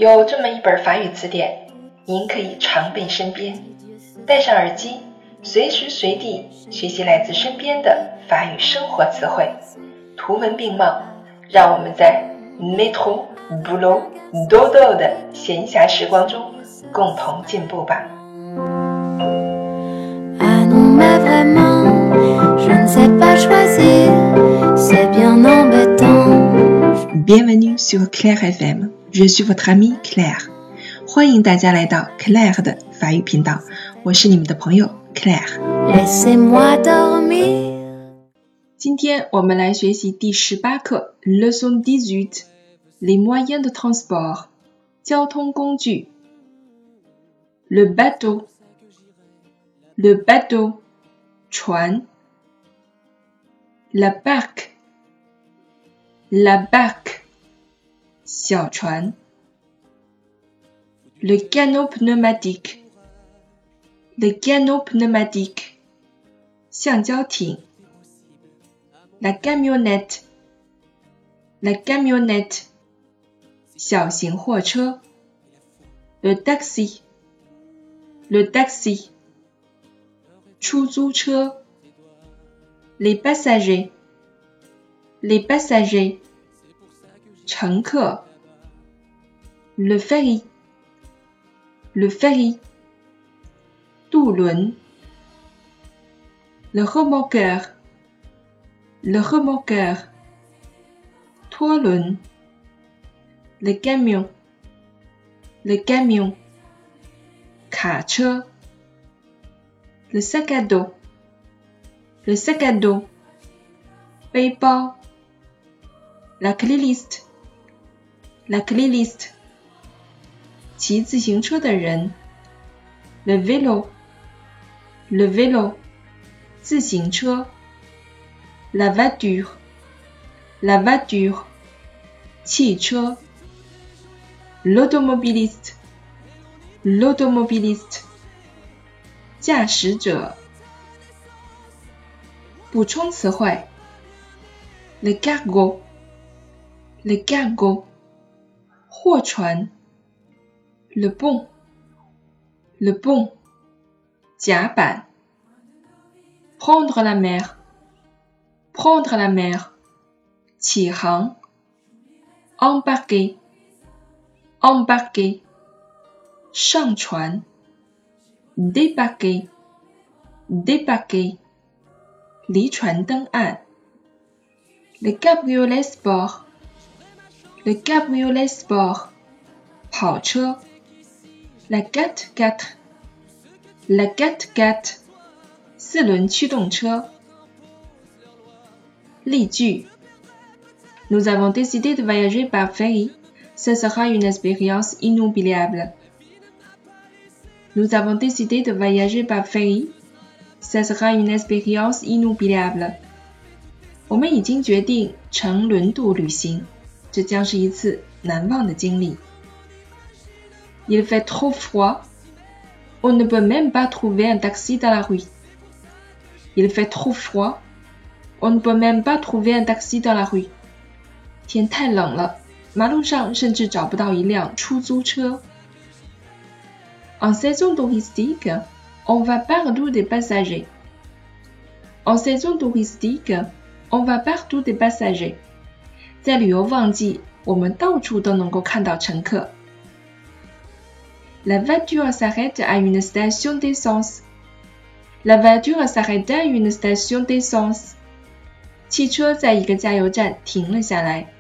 有这么一本法语词典，您可以常备身边，戴上耳机，随时随地学习来自身边的法语生活词汇，图文并茂，让我们在 métro, boulot, dodo 的闲暇时光中共同进步吧。 Bienvenue sur Claire FM, je suis votre amie Claire. 欢迎大家来到 Claire 的法语频道，我是你们的朋友 Claire。今天我们来学习第18课 Leçon 18 Les moyens de transport 交通工具 Le bateau 船 La barque 小船 Le canot pneumatique 橡胶艇 La camionnette 小型货车 Le taxi 出租车 Les passagers 乘客 Le ferry 渡轮 Le remorqueur 拖轮 Le camion 卡车 Le sac à dos 背包 La clé liste 骑自行车的人 Le vélo 自行车 La voiture 汽车 L'automobiliste 驾驶者。补充词汇 Le cargo 货船 Le pont 甲板 Prendre la mer 起航 Embarquer 上船 Débarquer 离船登岸 Le cabriolet sport 跑车 La 4x4 四轮驱动车。例句 Nous avons décidé de voyager par ferry. Ce sera une expérience inoubliable. Nous avons décidé de voyager par ferry. Ce sera une expérience inoubliable. 我们已经决定乘轮渡旅行，这将是一次难忘的经历。Il fait trop froid. On ne peut même pas trouver un taxi dans la rue. Il fait trop froid. On ne peut même pas trouver un taxi dans la rue. 天太冷了，马路上甚至找不到一辆出租车。En saison touristique, on va partout des passagers. En saison touristique, on va partout des passagers. 在旅游旺季，我们到处都能够看到乘客。La voiture s'arrête à une station d'essence. La voiture s'arrête à une station d'essence. 汽车在一个加油站停了下来。